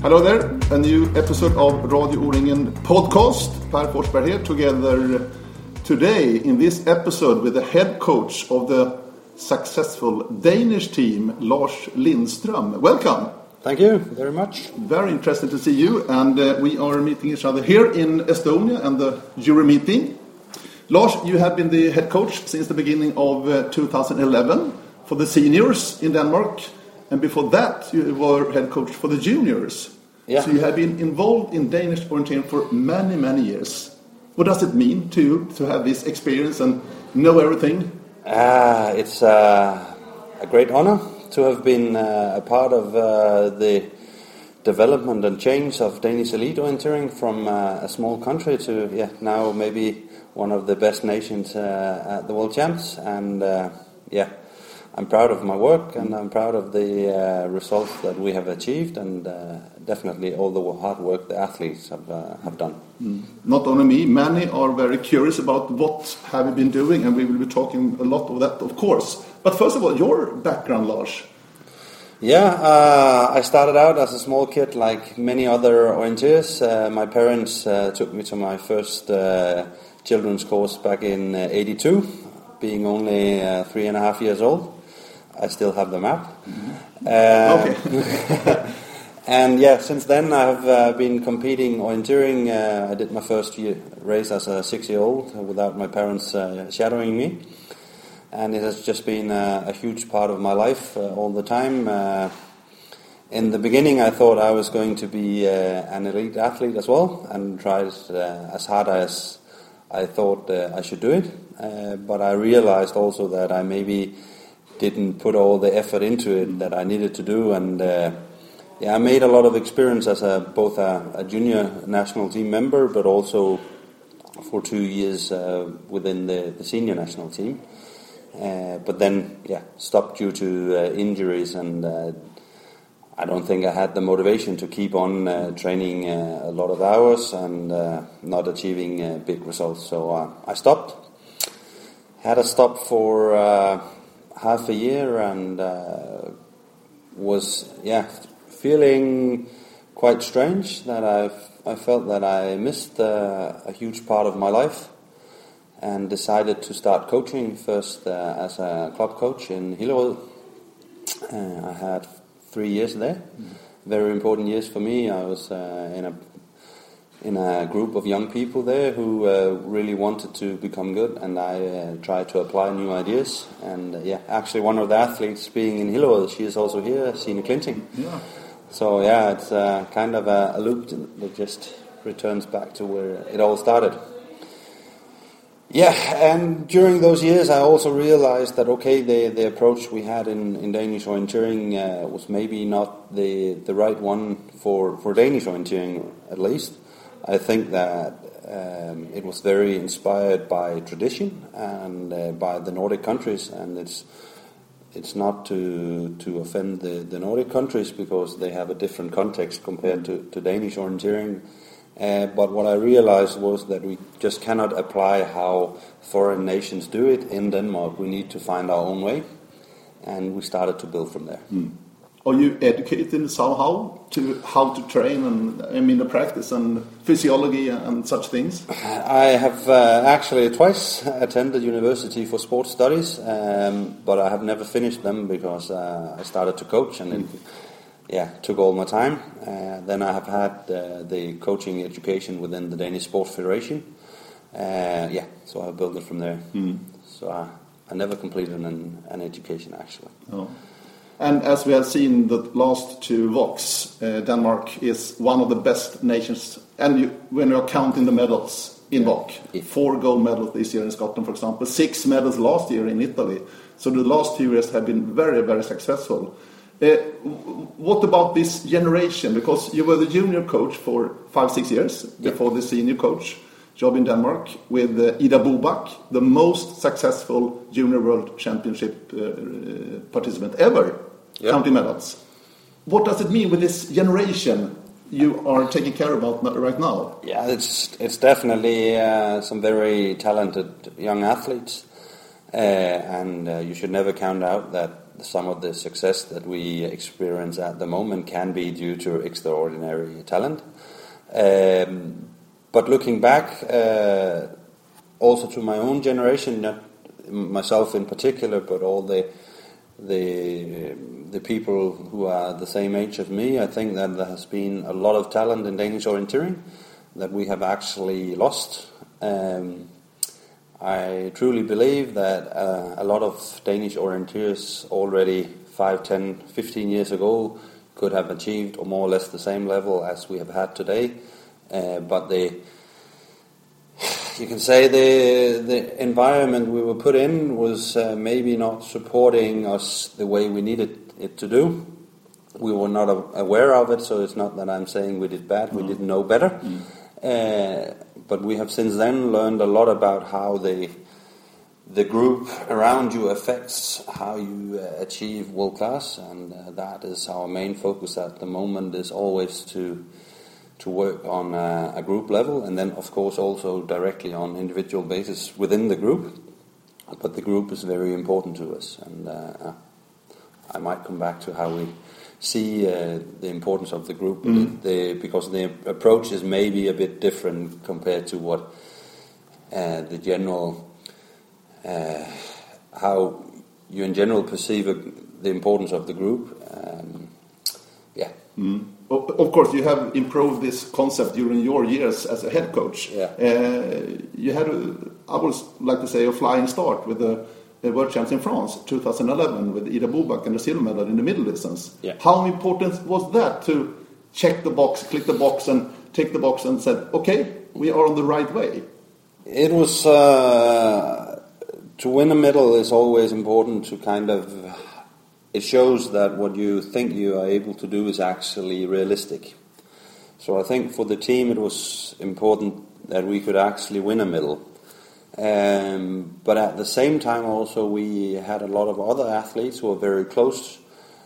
Hello there, a new episode of Radio O-ringen podcast. Per Forsberg here, together today in this episode with the head coach of the successful Danish team, Lars Lindström. Welcome. Thank you very much. Very interested to see you, and we are meeting each other here in Estonia and the Euro meeting. Lars, you have been the head coach since the beginning of 2011 for the seniors in Denmark, and before that you were head coach for the juniors. Yeah. So you have been involved in Danish orienteering for many, many years. What does it mean to have this experience and know everything? It's a great honor to have been a part of the development and change of Danish elite orienteering from a small country to now maybe one of the best nations at the World Champs. And I'm proud of my work, and I'm proud of the results that we have achieved, and definitely all the hard work the athletes have done. Not only me, many are very curious about what have you been doing, and we will be talking a lot of that, of course. But first of all, your background, Lars. I started out as a small kid like many other orienteers. My parents took me to my first children's course back in 82, being only 3.5 years old. I still have the map. Okay. And since then I have been competing orienteering. I did my first race as a 6-year-old without my parents shadowing me. And it has just been a huge part of my life all the time. In the beginning I thought I was going to be an elite athlete as well, and tried as hard as I thought I should do it. But I realized also that I maybe didn't put all the effort into it that I needed to do, and I made a lot of experience as both a junior national team member, but also for 2 years within the senior national team. But then stopped due to injuries, and I don't think I had the motivation to keep on training a lot of hours and not achieving big results. So I stopped. Had a stop for half a year, and was feeling quite strange that I felt that I missed a huge part of my life, and decided to start coaching first as a club coach in Hillerød. I had 3 years there, very important years for me. I was in a group of young people there who really wanted to become good, and I tried to apply new ideas. And actually one of the athletes being in Hillerød, she is also here, Signe Klinting. Yeah. So it's kind of a loop that just returns back to where it all started. And during those years I also realized that the approach we had in Danish orienteering was maybe not the right one for Danish orienteering, at least. I think that it was very inspired by tradition and by the Nordic countries, and it's not to offend the Nordic countries, because they have a different context compared to Danish orienteering. But what I realized was that we just cannot apply how foreign nations do it in Denmark. We need to find our own way, and we started to build from there. Are you educated somehow to how to train, and the practice and physiology and such things? I have actually twice attended university for sports studies, but I have never finished them because I started to coach, and it took all my time. Then I have had the coaching education within the Danish Sports Federation. So I built it from there. So I never completed an education, actually. Oh. And as we have seen the last 2 VOCs, Denmark is one of the best nations. And when you're counting the medals in VOC, 4 gold medals this year in Scotland, for example, 6 medals last year in Italy. So the last 2 years have been very, very successful. What about this generation? Because you were the junior coach for 5-6 years before the senior coach job in Denmark with Ida Bobak, the most successful junior world championship participant ever, counting medals. What does it mean with this generation you are taking care about right now? Yeah, it's definitely some very talented young athletes, and you should never count out that some of the success that we experience at the moment can be due to extraordinary talent. But looking back, also to my own generation, not myself in particular, but all the people who are the same age as me, I think that there has been a lot of talent in Danish orienteering that we have actually lost. I truly believe that a lot of Danish orienteers already 5, 10, 15 years ago could have achieved more or less the same level as we have had today. But you can say the environment we were put in was maybe not supporting us the way we needed it to do. We were not aware of it, so it's not that I'm saying we did bad, we didn't know better. But we have since then learned a lot about how the group around you affects how you achieve world class, and that is our main focus at the moment, is always to work on a group level, and then of course also directly on individual basis within the group. But the group is very important to us, and I might come back to how we see the importance of the group, because the approach is maybe a bit different compared to what the general, how you in general perceive the importance of the group. Of course, you have improved this concept during your years as a head coach. Yeah. You had, I would like to say, a flying start with the World Champs in France, 2011, with Ida Bobak and the silver medal in the middle distance. Yeah. How important was that to check the box, click the box, and tick the box and said, okay, we are on the right way? It was, to win a medal is always important to kind of, it shows that what you think you are able to do is actually realistic. So I think for the team it was important that we could actually win a medal. But at the same time also we had a lot of other athletes who were very close,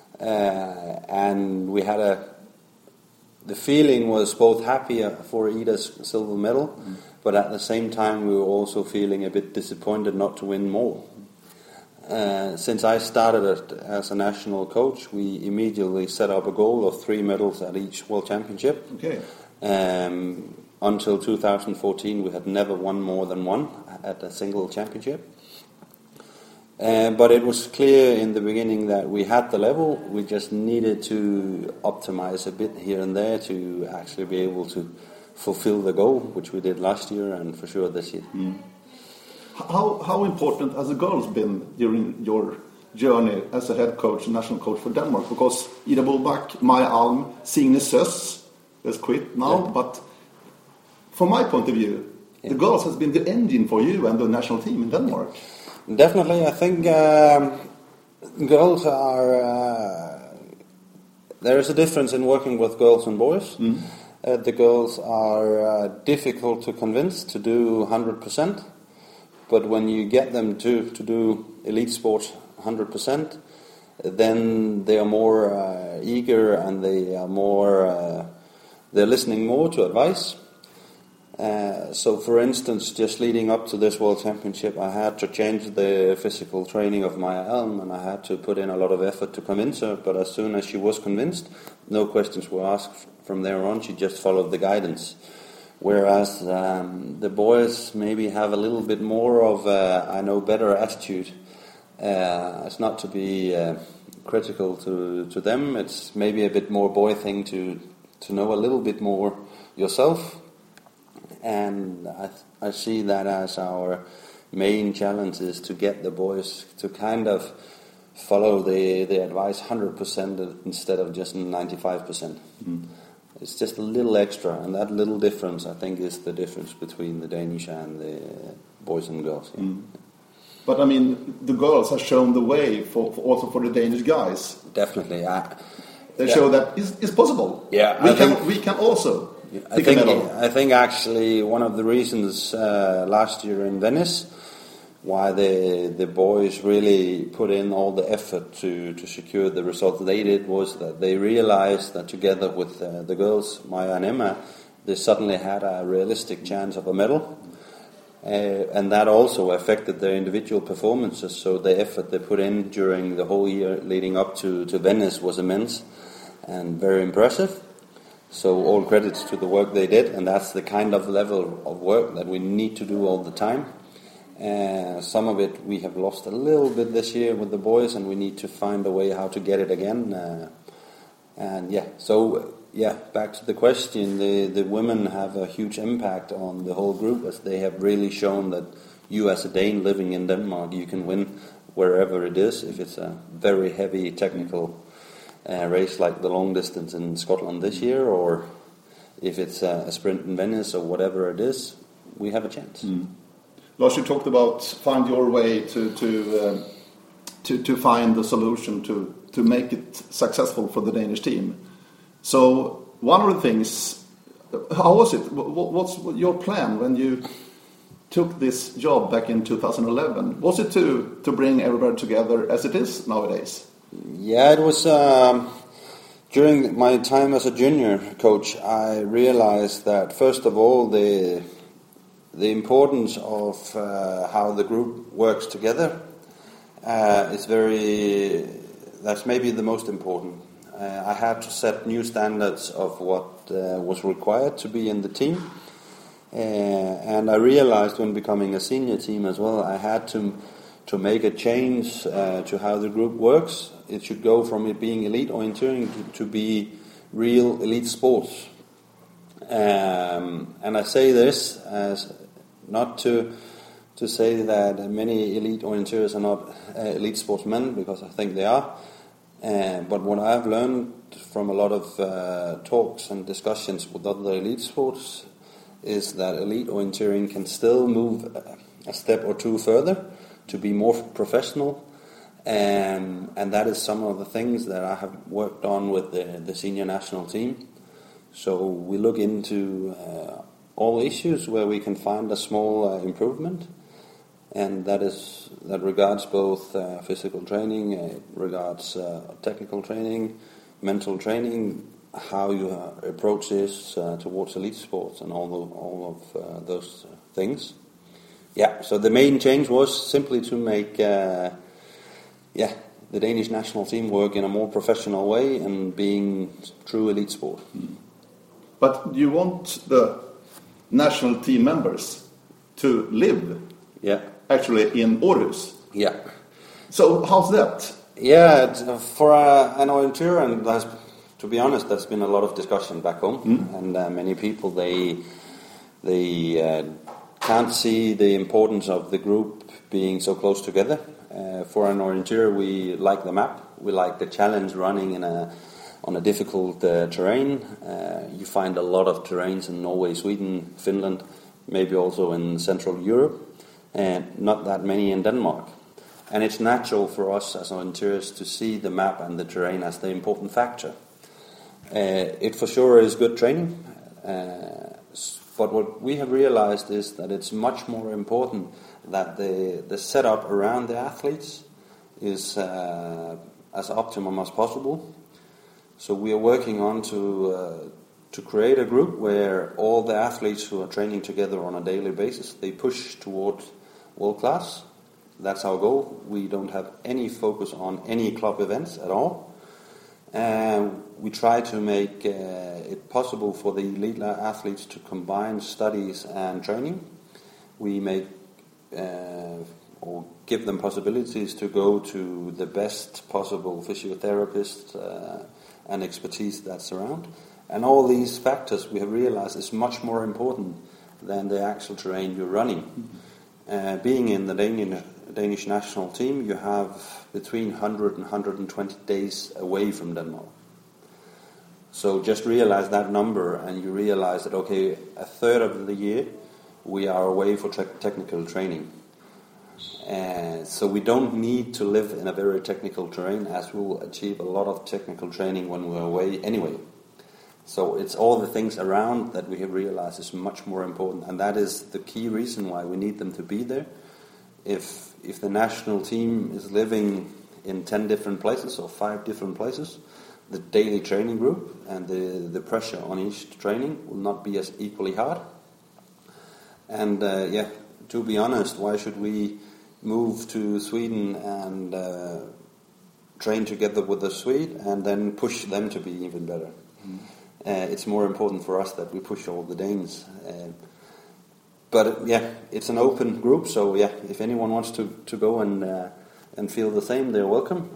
and we had the feeling was both happy for Ida's silver medal, but at the same time we were also feeling a bit disappointed not to win more. Since I started as a national coach, we immediately set up a goal of 3 medals at each World Championship. Okay. Until 2014 we had never won more than one at a single championship. But it was clear in the beginning that we had the level, we just needed to optimize a bit here and there to actually be able to fulfill the goal, which we did last year and for sure this year. How important has the girls been during your journey as a head coach, national coach for Denmark? Because Ida Bobak, Maja Alm, Signe Søs has quit now, but from my point of view, the girls has been the engine for you and the national team in Denmark. Definitely, I think girls are... there is a difference in working with girls and boys. The girls are difficult to convince to do 100%, but when you get them to do elite sports 100%, then they are more eager and they are more... they're listening more to advice. So, for instance, just leading up to this World Championship, I had to change the physical training of Maja Alm, and I had to put in a lot of effort to convince her. But as soon as she was convinced, no questions were asked from there on. She just followed the guidance. Whereas the boys maybe have a little bit more of a I know better attitude. It's not to be critical to them. It's maybe a bit more boy thing to know a little bit more yourself. And I see that as our main challenge is to get the boys to kind of follow the advice 100% instead of just 95%. It's just a little extra, and that little difference, I think, is the difference between the Danish and the boys and girls. Yeah. But I mean, the girls have shown the way also for the Danish guys. Definitely, they show that it's possible. Yeah, we can also. I think actually one of the reasons last year in Venice why the boys really put in all the effort to secure the result they did was that they realized that together with the girls, Maja and Emma, they suddenly had a realistic chance of a medal. And that also affected their individual performances, so the effort they put in during the whole year leading up to Venice was immense and very impressive. So all credits to the work they did, and that's the kind of level of work that we need to do all the time. Some of it we have lost a little bit this year with the boys, and we need to find a way how to get it again. Back to the question, the women have a huge impact on the whole group, as they have really shown that you as a Dane living in Denmark, you can win wherever it is, if it's a very heavy technical race like the long distance in Scotland this year, or if it's a sprint in Venice or whatever it is, we have a chance. Lars, you talked about find your way to find the solution to make it successful for the Danish team. So one of the things, how was it? What's your plan when you took this job back in 2011? Was it to bring everybody together as it is nowadays? Yeah, it was. During my time as a junior coach, I realized that first of all the importance of how the group works together is that's maybe the most important. I had to set new standards of what was required to be in the team, and I realized when becoming a senior team as well, I had to make a change to how the group works. It should go from it being elite orienteering to be real elite sports. And I say this as not to say that many elite orienteers are not elite sportsmen, because I think they are. But what I've learned from a lot of talks and discussions with other elite sports is that elite orienteering can still move a step or two further to be more professional, and that is some of the things that I have worked on with the senior national team. So we look into all issues where we can find a small improvement, and that regards both physical training, it regards technical training, mental training, how you approach this towards elite sports, and all of those things. Yeah, so the main change was simply to make the Danish national team work in a more professional way and being true elite sport. But you want the national team members to live actually in Aarhus. Yeah. So how's that? Yeah, for an orienteer, and to be honest, there's been a lot of discussion back home, and many people they can't see the importance of the group being so close together. For an orienteer, we like the map, we like the challenge running on a difficult terrain. You find a lot of terrains in Norway, Sweden, Finland, maybe also in Central Europe, and not that many in Denmark. And it's natural for us as orienteers to see the map and the terrain as the important factor. It for sure is good training, but what we have realized is that it's much more important that the setup around the athletes is as optimum as possible. So we are working on to create a group where all the athletes who are training together on a daily basis, they push toward world class. That's our goal. We don't have any focus on any club events at all. And we try to make it possible for the elite athletes to combine studies and training. We make or give them possibilities to go to the best possible physiotherapists and expertise that's around. And all these factors we have realized is much more important than the actual terrain you're running. Being in the Danish national team, you have between 100 and 120 days away from Denmark. So just realize that number, and you realize that, okay, a third of the year we are away for technical training. So we don't need to live in a very technical terrain, as we will achieve a lot of technical training when we're away anyway. So it's all the things around that we have realized is much more important, and that is the key reason why we need them to be there. If the national team is living in 10 different places or 5 different places, the daily training group and the pressure on each training will not be as equally hard. And to be honest, why should we move to Sweden and train together with the Swede and then push them to be even better? It's more important for us that we push all the Danes. But it's an open group, so if anyone wants to go and feel the same, they're welcome.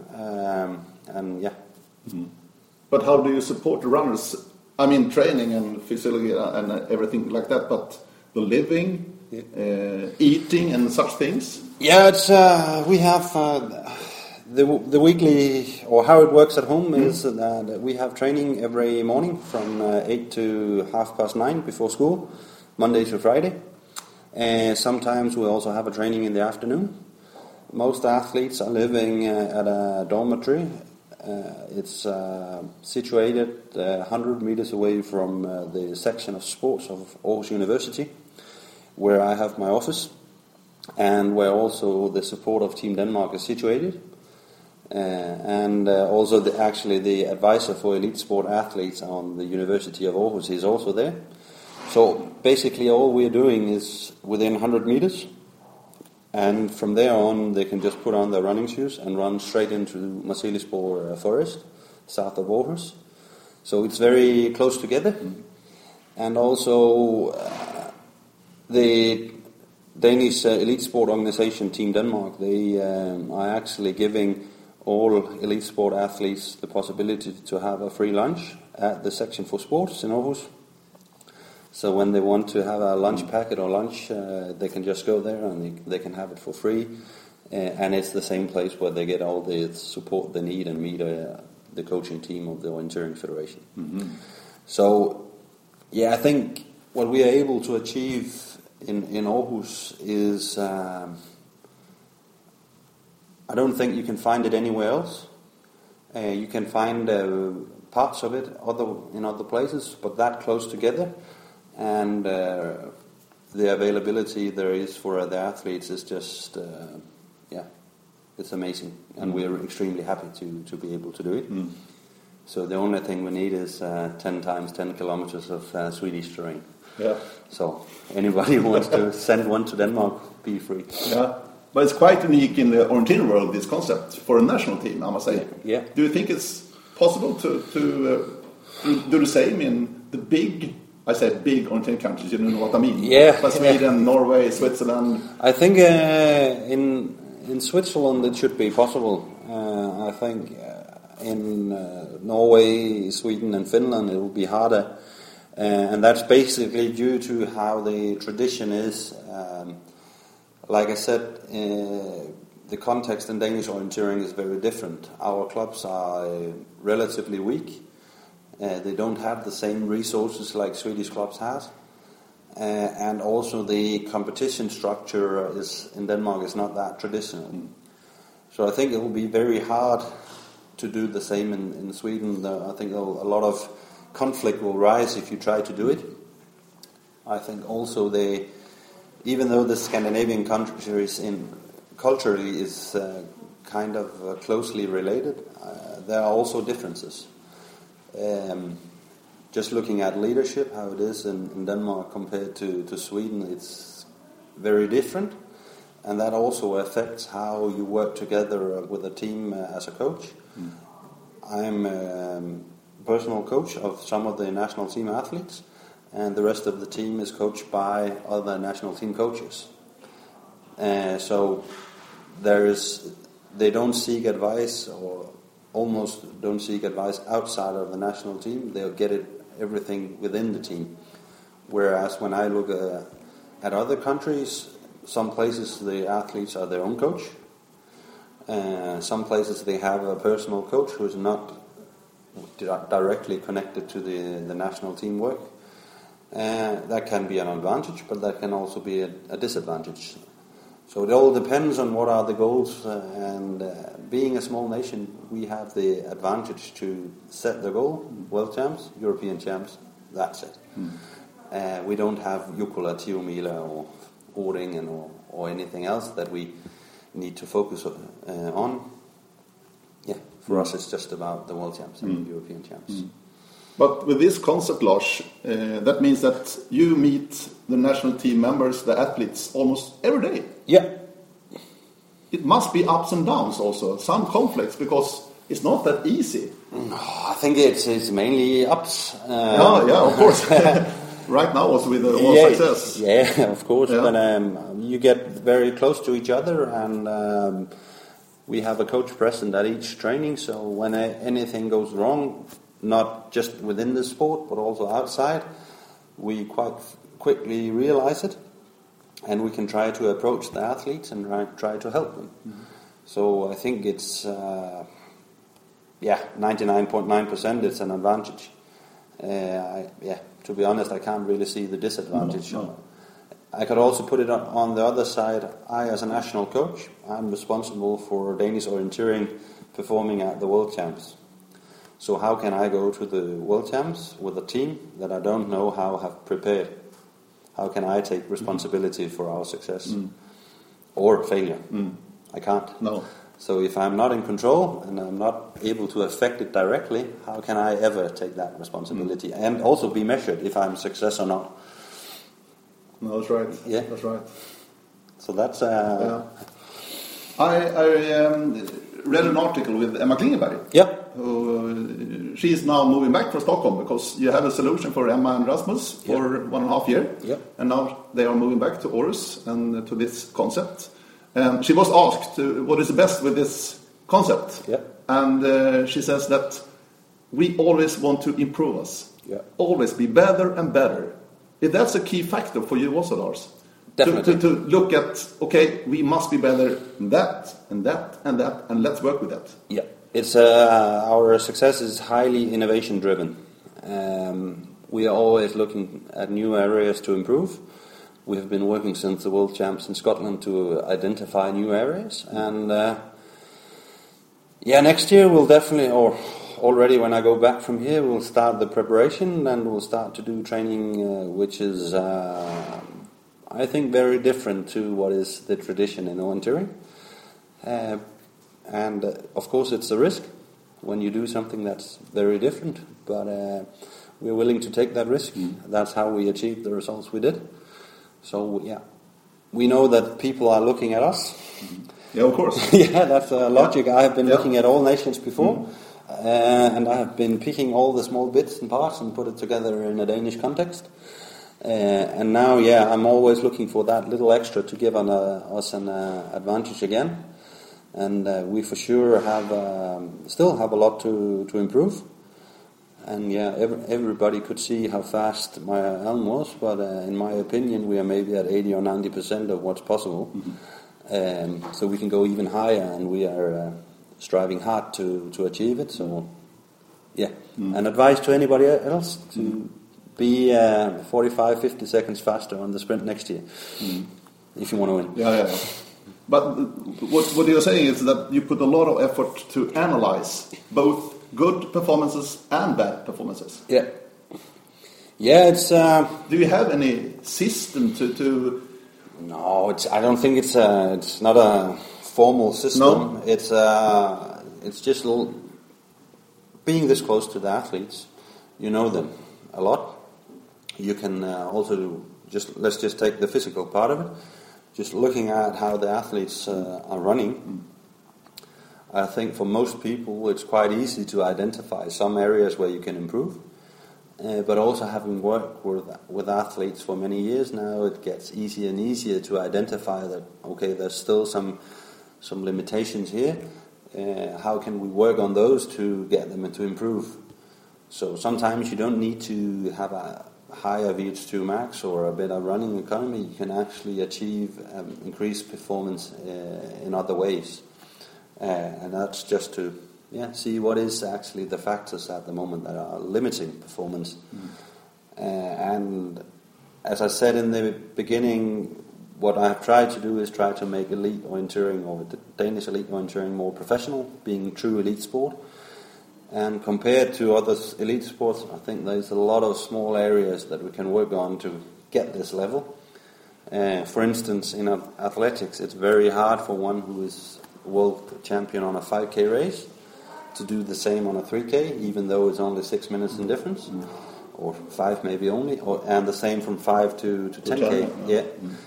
But how do you support the runners? I mean, training and physiology and everything like that, but the living, eating and such things? Yeah, it's we have the weekly, or how it works at home is that we have training every morning from 8 to 9:30 before school, Monday to Friday. Sometimes we also have a training in the afternoon. Most athletes are living at a dormitory. It's situated 100 meters away from the section of sports of Aarhus University, where I have my office, and where also the support of Team Denmark is situated. And also the advisor for elite sport athletes on the University of Aarhus is also there. So basically all we're doing is within 100 meters, and from there on they can just put on their running shoes and run straight into Marselisborg Forest, south of Aarhus. So it's very close together. And also the Danish elite sport organization Team Denmark, they are actually giving all elite sport athletes the possibility to have a free lunch at the section for sports in Aarhus. So when they want to have a lunch packet or lunch, they can just go there and they can have it for free. And it's the same place where they get all the support they need and meet the coaching team of the Orienteering Federation. So, I think what we are able to achieve in Aarhus is, I don't think you can find it anywhere else. You can find parts of it in other places, but that close together. And the availability there is for the athletes is just, it's amazing. And we're extremely happy to be able to do it. So the only thing we need is 10 times 10 kilometers of Swedish terrain. Yeah. So anybody who wants to send one to Denmark, be free. Yeah. But it's quite unique in the orienteering world, this concept, for a national team, I must say. Yeah. Do you think it's possible to do the same in the big... I said big orienteering countries, you know what I mean? Yeah. But Sweden, Norway, Switzerland... I think in Switzerland it should be possible. I think in Norway, Sweden and Finland it will be harder. And that's basically due to how the tradition is. Like I said, the context in Danish orienteering is very different. Our clubs are relatively weak. They don't have the same resources like Swedish clubs have, and also the competition structure in Denmark is not that traditional. So I think it will be very hard to do the same in Sweden. I think a lot of conflict will rise if you try to do it. I think also even though the Scandinavian countries culturally is kind of closely related, there are also differences. Just looking at leadership, how it is in Denmark compared to Sweden, it's very different, and that also affects how you work together with a team as a coach. I'm a personal coach of some of the national team athletes, and the rest of the team is coached by other national team coaches. So they don't seek advice, or almost don't seek advice outside of the national team. They'll get everything within the team. Whereas when I look at other countries, some places the athletes are their own coach. Some places they have a personal coach who is not directly connected to the national team work. That can be an advantage, but that can also be a disadvantage. So it all depends on what are the goals, and being a small nation, we have the advantage to set the goal, world champs, European champs, that's it. We don't have Jukkola, Tiomila or Årjängen or anything else that we need to focus on. Yeah, for us it's just about the world champs and the European champs. But with this concept, Lars, that means that you meet the national team members, the athletes, almost every day. Yeah. It must be ups and downs also, some conflicts, because it's not that easy. No, I think it's mainly ups. Yeah, of course. Right now also with all success. Yeah, of course. Yeah. But you get very close to each other, and we have a coach present at each training, so when anything goes wrong, not just within the sport, but also outside, we quite quickly realize it, and we can try to approach the athletes and try to help them. Mm-hmm. So I think it's 99.9% it's an advantage. To be honest, I can't really see the disadvantage. No. I could also put it on the other side. I, as a national coach, I'm responsible for Danish orienteering performing at the World Champs. So how can I go to the World Champs with a team that I don't know how have prepared? How can I take responsibility for our success or failure? I can't. No. So if I'm not in control and I'm not able to affect it directly, how can I ever take that responsibility and also be measured if I'm success or not? No, that's right. Yeah, that's right. So that's. I read an article with Emma Klingenberg. Yep. She is now moving back from Stockholm because you have a solution for Emma and Rasmus for 1.5 years. Yep. And now they are moving back to Aarhus and to this concept. And she was asked what is the best with this concept. Yep. And she says that we always want to improve us. Yep. Always be better and better. If that's a key factor for you also, Lars. Definitely. To look at, okay, we must be better in that, and that, and that, and let's work with that. Yeah, it's our success is highly innovation driven. We are always looking at new areas to improve. We have been working since the World Champs in Scotland to identify new areas, and next year we'll definitely, or already when I go back from here, we'll start the preparation and we'll start to do training, which is. I think very different to what is the tradition in orienteering. And of course it's a risk when you do something that's very different, but we're willing to take that risk. That's how we achieved the results we did. So we know that people are looking at us. Yeah, of course. Yeah, that's a logic. I have been looking at all nations before, and I have been picking all the small bits and parts and put it together in a Danish context. And now, I'm always looking for that little extra to give us an advantage again. And we for sure still have a lot to improve. And everybody could see how fast my Elm was, but in my opinion, we are maybe at 80 or 90% of what's possible. So we can go even higher, and we are striving hard to achieve it. So, an advice to anybody else to be 45-50 seconds faster on the sprint next year if you want to win. Yeah. But what you're saying is that you put a lot of effort to analyze both good performances and bad performances. Yeah, it's... Do you have any system to... No, I don't think it's not a formal system. No? It's just being this close to the athletes. You know them a lot. You can also let's just take the physical part of it. Just looking at how the athletes are running, I think for most people it's quite easy to identify some areas where you can improve. But also having worked with athletes for many years now, it gets easier and easier to identify that, okay, there's still some limitations here. How can we work on those to get them to improve? So sometimes you don't need to have a higher VH2 max or a better running economy. You can actually achieve increased performance in other ways. And that's just to see what is actually the factors at the moment that are limiting performance. And as I said in the beginning, what I've tried to do is try to make elite orienteering, or the Danish elite orienteering, more professional, being true elite sport. And compared to other elite sports, I think there's a lot of small areas that we can work on to get this level. For instance, in athletics, it's very hard for one who is world champion on a 5K race to do the same on a 3K, even though it's only 6 minutes in difference, or 5 maybe only, and the same from 5 to 10K. Yeah.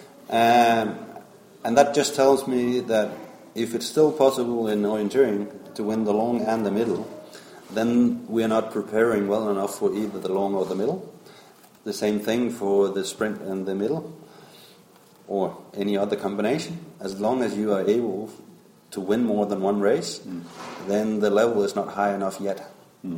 And that just tells me that if it's still possible in orienteering to win the long and the middle, then we are not preparing well enough for either the long or the middle. The same thing for the sprint and the middle, or any other combination. As long as you are able to win more than one race, then the level is not high enough yet.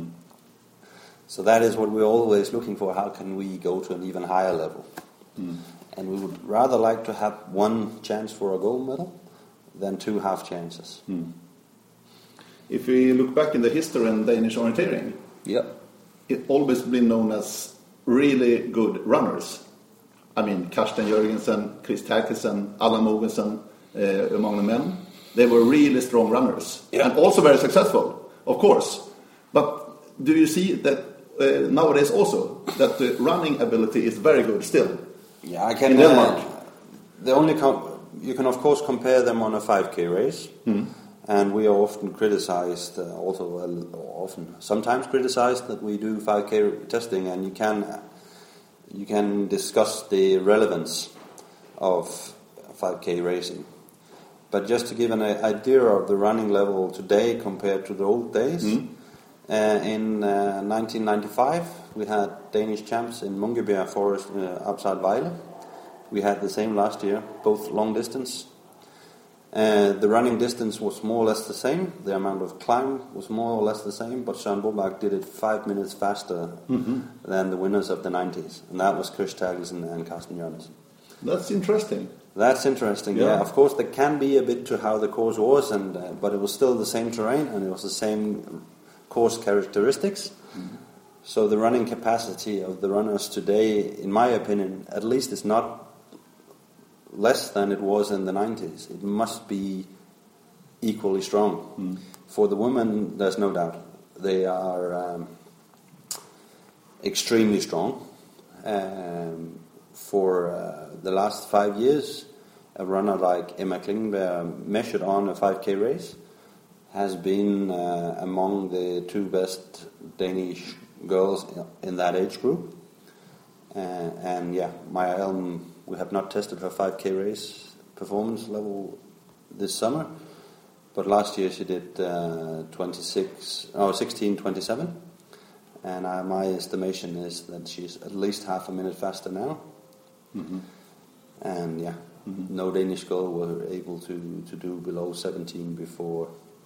So that is what we're always looking for. How can we go to an even higher level? And we would rather like to have one chance for a gold medal than 2 half chances. If we look back in the history in Danish orienteering, it's always been known as really good runners. I mean, Karsten Jørgensen, Chris Terkelsen, Allan Mogensen, among the men. They were really strong runners. And also very successful, of course. But do you see that nowadays also, that the running ability is very good still? Yeah, I can. In Denmark. You can of course compare them on a 5K race, and we are often criticized, sometimes criticized that we do 5K testing, and you can discuss the relevance of 5K racing. But just to give an idea of the running level today compared to the old days, in 1995 we had Danish champs in Munkebjerg Forest outside Vejle. We had the same last year, both long distance. The running distance was more or less the same. The amount of climb was more or less the same, but Søren Bobak did it 5 minutes faster than the winners of the 90s. And that was Chris Terkelsen and Karsten Jørgensen. That's interesting. That's interesting, yeah. Of course, there can be a bit to how the course was, but it was still the same terrain, and it was the same course characteristics. So the running capacity of the runners today, in my opinion, at least is not less than it was in the 90s. It must be equally strong. For the women, there's no doubt. They are extremely strong. For the last 5 years, a runner like Emma Klingenberg, measured on a 5K race, has been among the 2 best Danish girls in that age group. Maja Elm, we have not tested her 5K race performance level this summer, but last year she did 16:27, and my estimation is that she's at least half a minute faster now. And no Danish girl were able to do below 17 before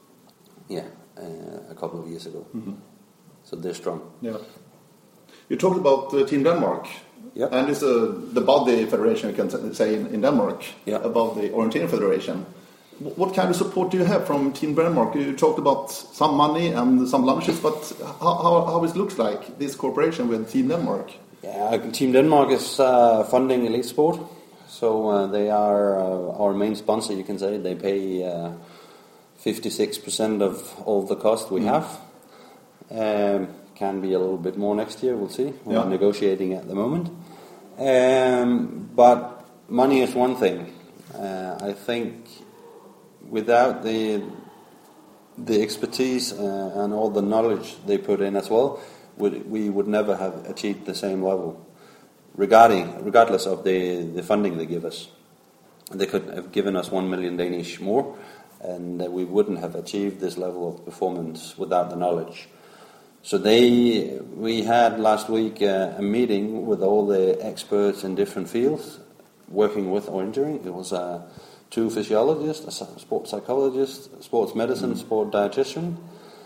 a couple of years ago. So they're strong. You talked about Team Denmark. And it's the body federation, you can say, in Denmark, above the Orienteering Federation. What kind of support do you have from Team Denmark? You talked about some money and some lunches, but how it looks like, this cooperation with Team Denmark? Team Denmark is funding elite sport, so they are our main sponsor, you can say. They pay 56% of all the cost we have. Can be a little bit more next year, we'll see. We're negotiating at the moment. But money is one thing. I think without the expertise and all the knowledge they put in as well, we would never have achieved the same level, regardless of the funding they give us. They could have given us 1 million Danish more, and we wouldn't have achieved this level of performance without the knowledge. So we had last week a meeting with all the experts in different fields working with orienteering. It was 2 physiologists, a sports psychologist, sports medicine, sport dietitian.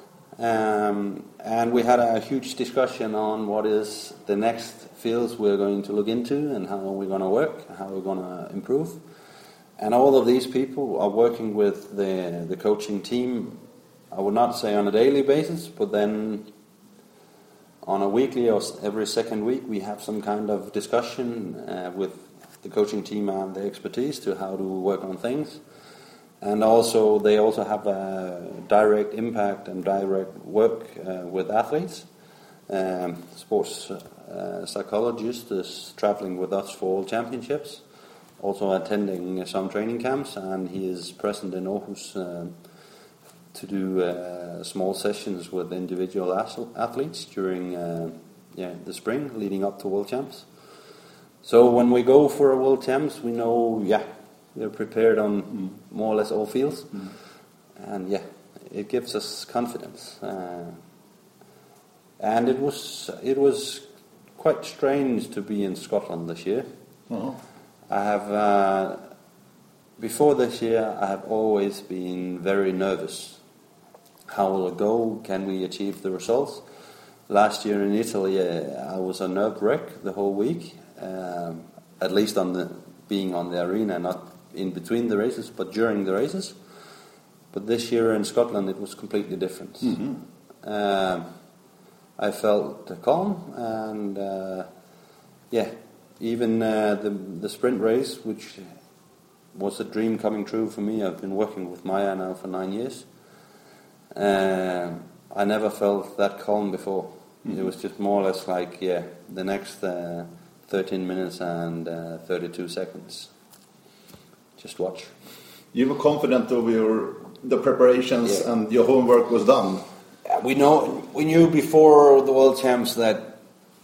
And we had a huge discussion on what is the next fields we're going to look into and how we're going to work, how we're going to improve. And all of these people are working with the coaching team, I would not say on a daily basis, but then on a weekly or every second week we have some kind of discussion with the coaching team and the expertise to how to work on things. And also they also have a direct impact and direct work with athletes. Sports psychologist is traveling with us for all championships, also attending some training camps, and he is present in Aarhus to do small sessions with individual athletes during the spring leading up to World Champs. So when we go for a World Champs, we know, we're prepared on more or less all fields. And it gives us confidence. And it was quite strange to be in Scotland this year. Uh-huh. I have, before this year, I have always been very nervous. How will it go? Can we achieve the results? Last year in Italy, I was a nerve wreck the whole week, at least being on the arena, not in between the races, but during the races. But this year in Scotland, it was completely different. Mm-hmm. I felt calm, and even the sprint race, which was a dream coming true for me. I've been working with Maya now for 9 years. I never felt that calm before. Mm-hmm. It was just more or less like, the next 13 minutes and 32 seconds. Just watch. You were confident of the preparations and your homework was done. We knew before the World Champs that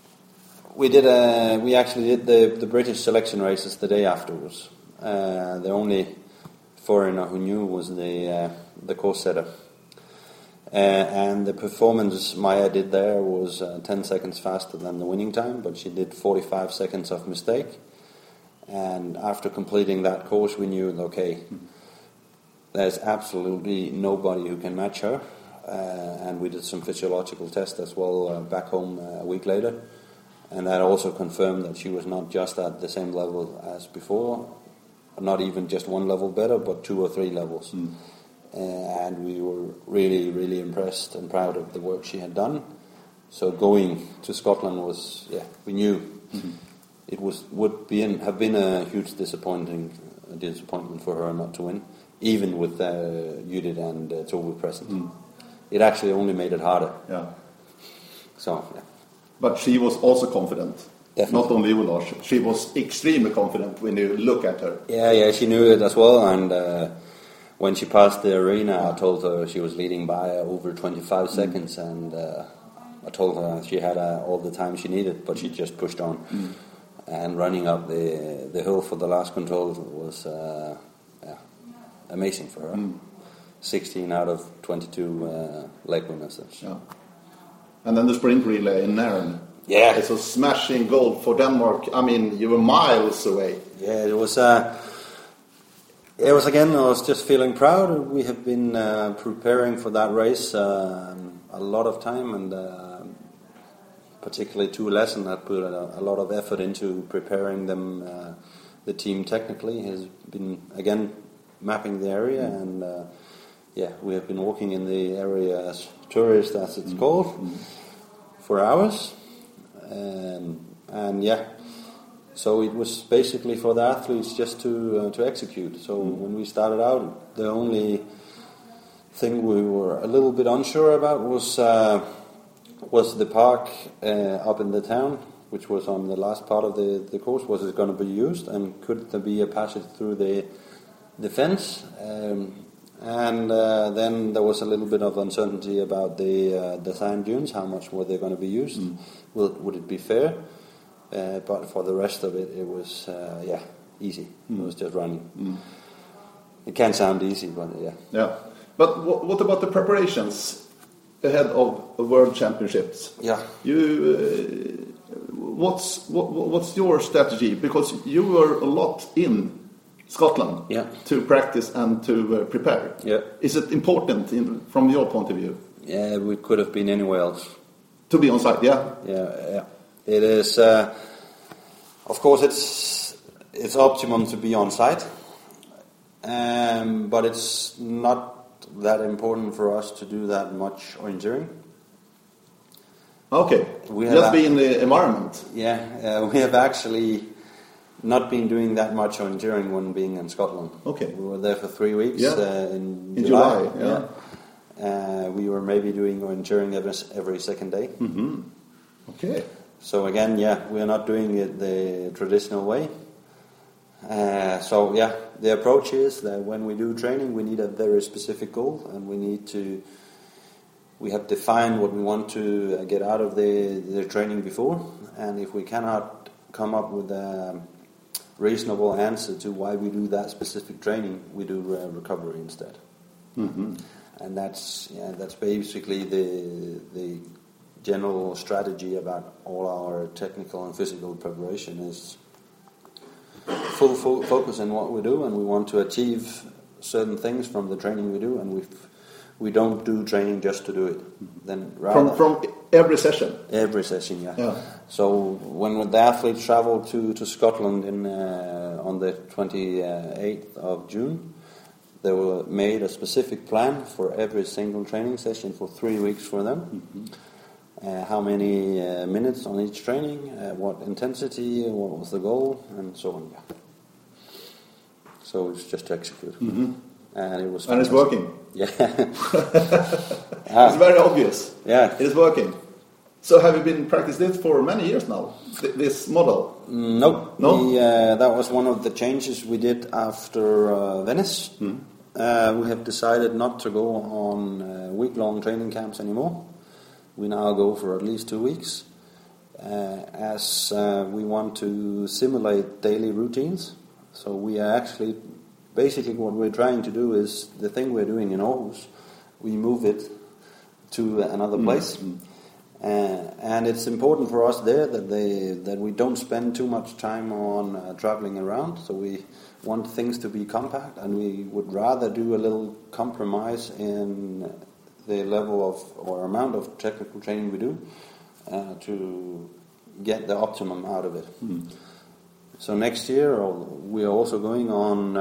we actually did the British selection races the day afterwards. The only foreigner who knew was the course setter. And the performance Maya did there was 10 seconds faster than the winning time, but she did 45 seconds of mistake. And after completing that course, we knew, there's absolutely nobody who can match her. And we did some physiological tests as well back home a week later. And that also confirmed that she was not just at the same level as before, not even just one level better, but 2 or 3 levels. And we were really, really impressed and proud of the work she had done. So going to Scotland was, we knew it would have been a huge disappointment for her not to win, even with Judith and Tove present. It actually only made it harder. Yeah. So, But she was also confident. Definitely. Not only you, Lars. She was extremely confident when you look at her. Yeah, she knew it as well. And when she passed the arena, I told her she was leading by over 25 seconds. And I told her she had all the time she needed, but she just pushed on. And running up the hill for the last control was amazing for her. 16 out of 22 leg winners. Yeah. And then the sprint relay in Nairn. Yeah. It's a smashing goal for Denmark. I mean, you were miles away. Yeah, it was again, I was just feeling proud. We have been preparing for that race a lot of time, and particularly to Lassen had put a lot of effort into preparing them. The team technically has been, again, mapping the area, and we have been walking in the area as tourists, as it's called, for hours. So it was basically for the athletes just to execute. So when we started out, the only thing we were a little bit unsure about was the park up in the town, which was on the last part of the course. Was it going to be used, and could there be a passage through the fence? And then there was a little bit of uncertainty about the sand dunes. How much were they going to be used? Would it be fair? But for the rest of it, it was easy. It was just running. It can sound easy, but yeah. But what about the preparations ahead of World Championships? Yeah. What's your strategy? Because you were a lot in Scotland to practice and to prepare. Yeah. Is it important from your point of view? Yeah, we could have been anywhere else. To be on site, yeah? Yeah. It is, of course, it's optimum to be on site, but it's not that important for us to do that much orienteering. Okay, just be in the environment. Yeah, we have actually not been doing that much orienteering when being in Scotland. Okay. We were there for 3 weeks in July. We were maybe doing orienteering every second day. Okay. So again, we are not doing it the traditional way. So yeah, the approach is that when we do training, we need a very specific goal, and we have defined what we want to get out of the training before, and if we cannot come up with a reasonable answer to why we do that specific training, we do recovery instead. Mm-hmm. And that's basically the general strategy about all our technical and physical preparation is full focus on what we do, and we want to achieve certain things from the training we do, and we don't do training just to do it. Then rather from every session. Every session, yeah. So when the athletes travel to Scotland on the 28th of June, they were made a specific plan for every single training session for 3 weeks for them. Mm-hmm. How many minutes on each training, what intensity, what was the goal, and so on. Yeah. So it's just to execute. Mm-hmm. And it was. And it's working. Yeah. It's very obvious. Yeah. It is working. So have you been practicing this for many years now, this model? No. No? That was one of the changes we did after Venice. Mm. We have decided not to go on week-long training camps anymore. We now go for at least 2 weeks, as we want to simulate daily routines. So we are actually, basically what we're trying to do is the thing we're doing in Aarhus, we move it to another place. Mm. And it's important for us there that we don't spend too much time on traveling around. So we want things to be compact, and we would rather do a little compromise in the level of or amount of technical training we do to get the optimum out of it. Mm. So next year we are also going on,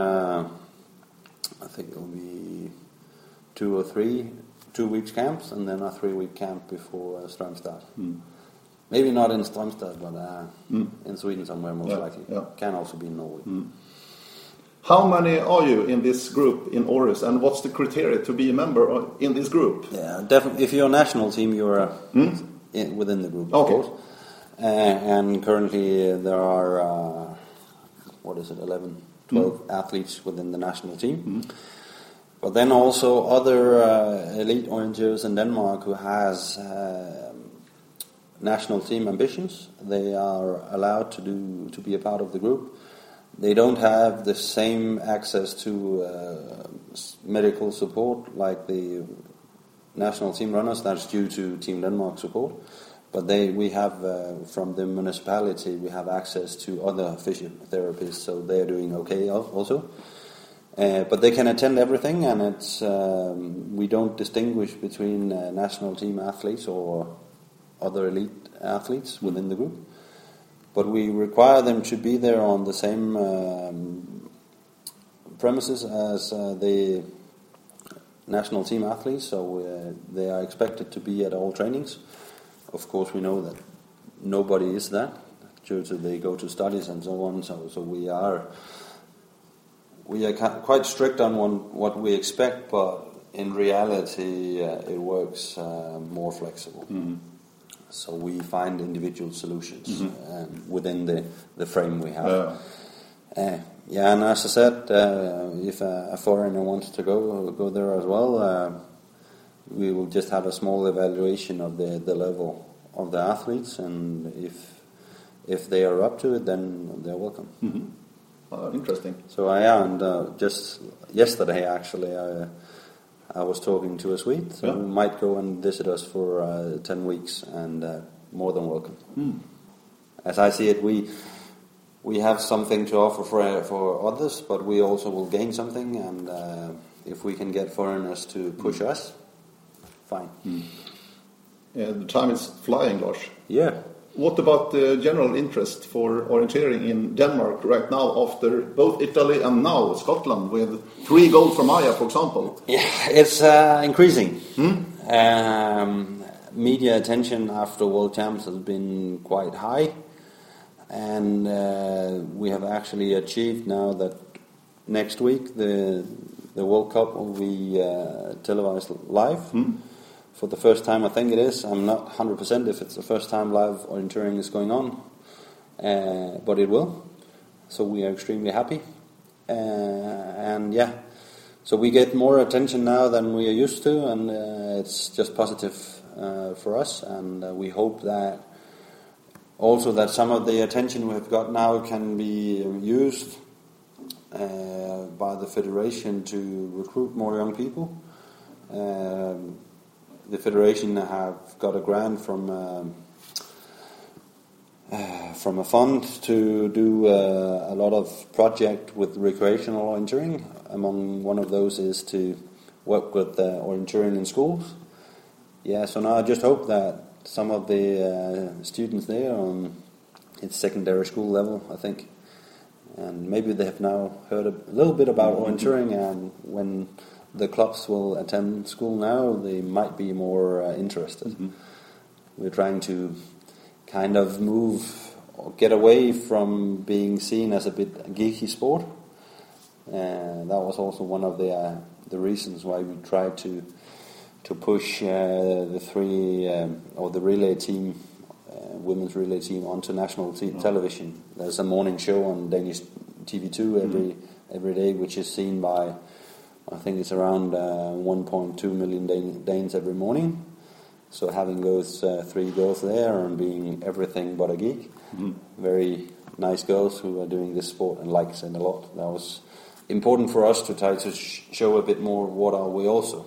I think it will be 2 or 3 2-week camps, and then a 3-week camp before Strömstad. Mm. Maybe not in Strömstad, but in Sweden somewhere most likely. Yeah. Can also be in Norway. Mm. How many are you in this group in Aarhus, and what's the criteria to be a member in this group? Yeah, definitely. If you're a national team, you're within the group, of course. And currently there are, 11, 12 athletes within the national team. Mm. But then also other elite orienteers in Denmark who has national team ambitions, they are allowed to be a part of the group. They don't have the same access to medical support like the national team runners. That's due to Team Denmark support. But we have from the municipality, we have access to other physiotherapists, so they're doing okay also. But they can attend everything, and it's we don't distinguish between national team athletes or other elite athletes within the group. But we require them to be there on the same premises as the national team athletes, so they are expected to be at all trainings. Of course, we know that nobody is that due to they go to studies and so on. So we are quite strict on what we expect, but in reality, it works more flexible. Mm-hmm. So we find individual solutions within the frame we have. And as I said, if a foreigner wants to go there as well, we will just have a small evaluation of the level of the athletes, and if they are up to it, then they're welcome. Mm-hmm. Interesting. So just yesterday actually, I was talking to a Swede who might go and visit us for 10 weeks, and more than welcome. Mm. As I see it, we have something to offer for others, but we also will gain something, and if we can get foreigners to push us, fine. Mm. The time is flying, Lars. Yeah. What about the general interest for orienteering in Denmark right now, after both Italy and now Scotland, with 3 gold from Maja, for example? Yeah, it's increasing. Media attention after World Champs has been quite high, and we have actually achieved now that next week the World Cup will be televised live. For the first time, I think it is. I'm not 100% if it's the first time live orienteering is going on, but it will. so we are extremely happy. And yeah, so we get more attention now than we are used to, and it's just positive for us. And we hope that also that some of the attention we've got now can be used by the federation to recruit more young people. The federation have got a grant from a fund to do a lot of project with recreational orienteering. Among one of those is to work with orienteering in schools. Yeah, so now I just hope that some of the students there on its secondary school level, I think, and maybe they have now heard a little bit about orienteering, and when the clubs will attend school now, they might be more interested. Mm-hmm. We're trying to kind of move or get away from being seen as a bit geeky sport. That was also one of the reasons why we tried to push the relay team, women's relay team, onto national television. There's a morning show on Danish TV2 every day, which is seen by, I think it's around 1.2 million Danes every morning. So having those 3 girls there and being everything but a geek, very nice girls who are doing this sport and likes it a lot. That was important for us to try to show a bit more what are we also.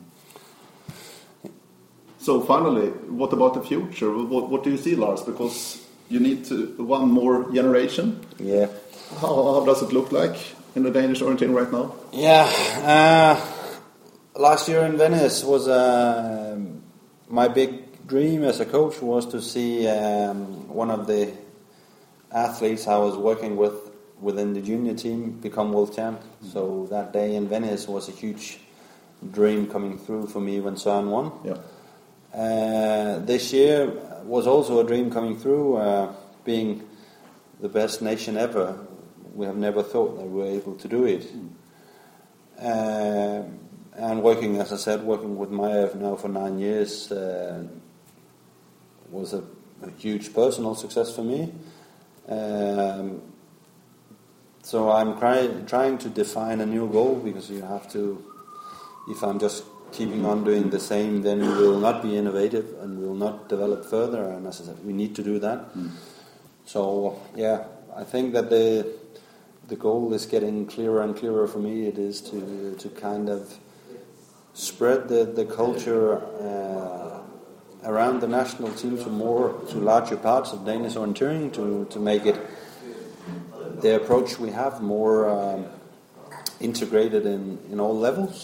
So finally, what about the future? What do you see, Lars? Because you need one more generation. Yeah. How does it look like in the Danish orienteering right now? Yeah. Last year in Venice was my big dream as a coach was to see one of the athletes I was working with within the junior team become world champ. So that day in Venice was a huge dream coming through for me when Søren won. Yeah. This year was also a dream coming through, being the best nation ever. We have never thought that we were able to do it. And working, as I said, working with Maja now for 9 years was a huge personal success for me. So I'm trying to define a new goal, because you have to, if I'm just keeping on doing the same, then we will not be innovative and we will not develop further, and as I said, we need to do that. So yeah, I think that the goal is getting clearer and clearer for me. It is to kind of spread the culture around the national team to larger parts of Danish orienteering, to make it the approach we have more integrated in all levels.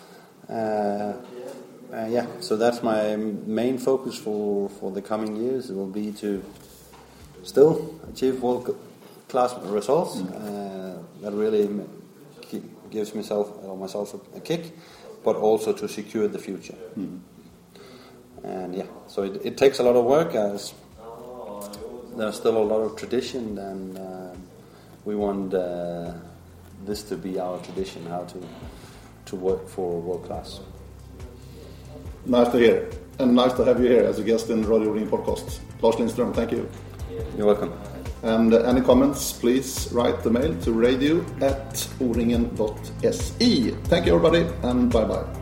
So that's my main focus for the coming years. It will be to still achieve world-class results. That really gives myself a kick, but also to secure the future. And yeah, so it takes a lot of work, as there's still a lot of tradition, and we want this to be our tradition, how to work for world class. Nice to hear, and nice to have you here as a guest in Radio O-Ringen podcast. Lars Lindström, thank you. You're welcome. And any comments, please write the mail to radio@oringen.se. Thank you everybody, and bye bye.